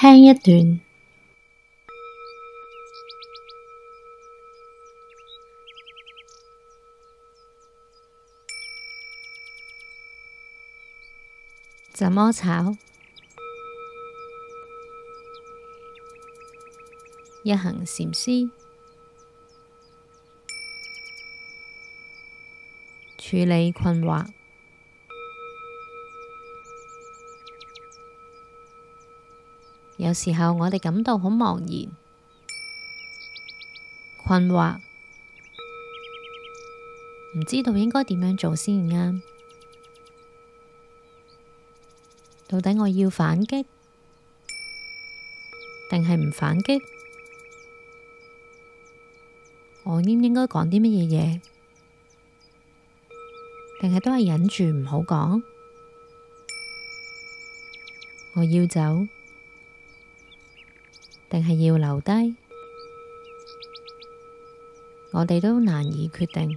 聽一段，怎麼炒？一行禪師處理困惑。有時候我哋感到好茫然、困惑，唔知道應該點樣做先啱。到底我要反擊，定係唔反擊？我應唔應該講啲乜嘢嘢？定係都係忍住唔好講？我要走，定係要留低？我哋都難以決定。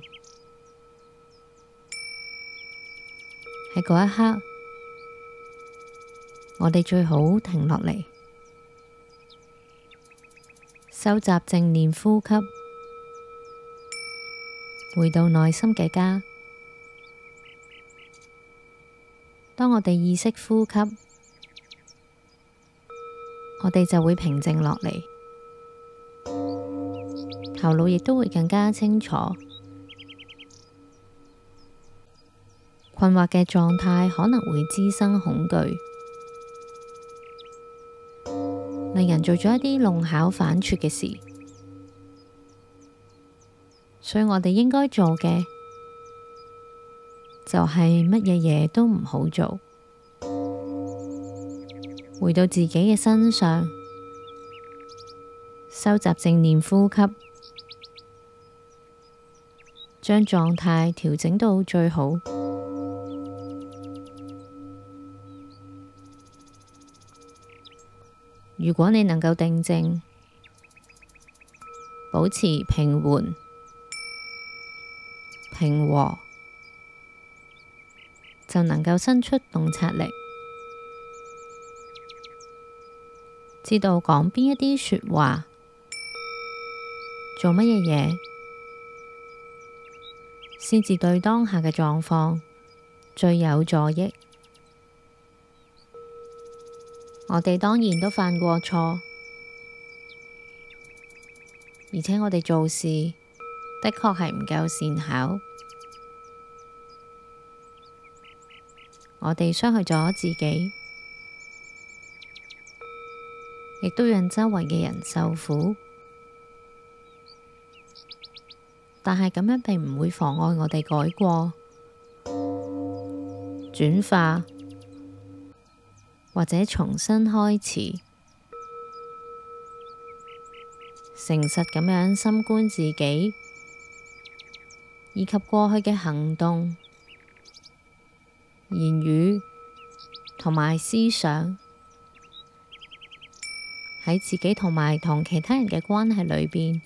喺嗰一刻，我哋最好停落嚟，收集正念呼吸，回到內心嘅家。當我哋意識呼吸，我哋就會平靜落嚟，頭腦亦都會更加清楚。困惑嘅狀態可能會滋生恐懼，令人做咗一啲弄巧反拙嘅事。所以我哋應該做嘅就係乜嘢嘢都唔好做，回到自己嘅身上，收集正念呼吸，將狀態調整到最好。如果你能夠定靜，保持平緩、平和，就能夠伸出洞察力，知道講邊一啲說話，做乜嘢嘢，先至對當下嘅狀況最有助益。我哋當然都犯過錯，而且我哋做事的確係唔夠善巧，我哋傷害咗自己，亦都讓周圍嘅人受苦。但係咁樣並唔會妨礙我哋改過、轉化，或者重新開始，誠實咁樣深觀自己，以及過去嘅行動、言語同埋思想，喺自己同埋同其他人嘅關係裏邊，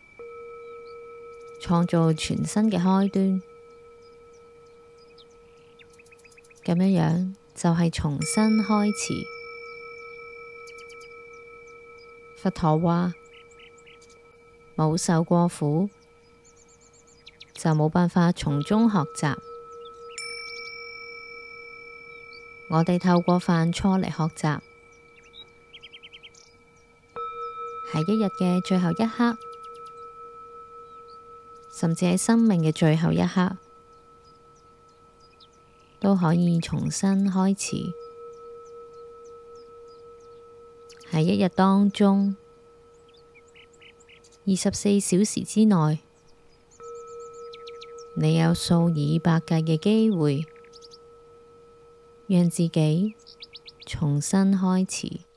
創造全新嘅開端。咁樣就係重新開始。佛陀話：冇受過苦，就冇辦法從中學習。我哋透過犯錯嚟學習，喺一日嘅最後一刻，甚至喺生命嘅最後一刻，都可以重新開始。喺一日當中，24小時之內，你有數以百計嘅機會，讓自己重新開始。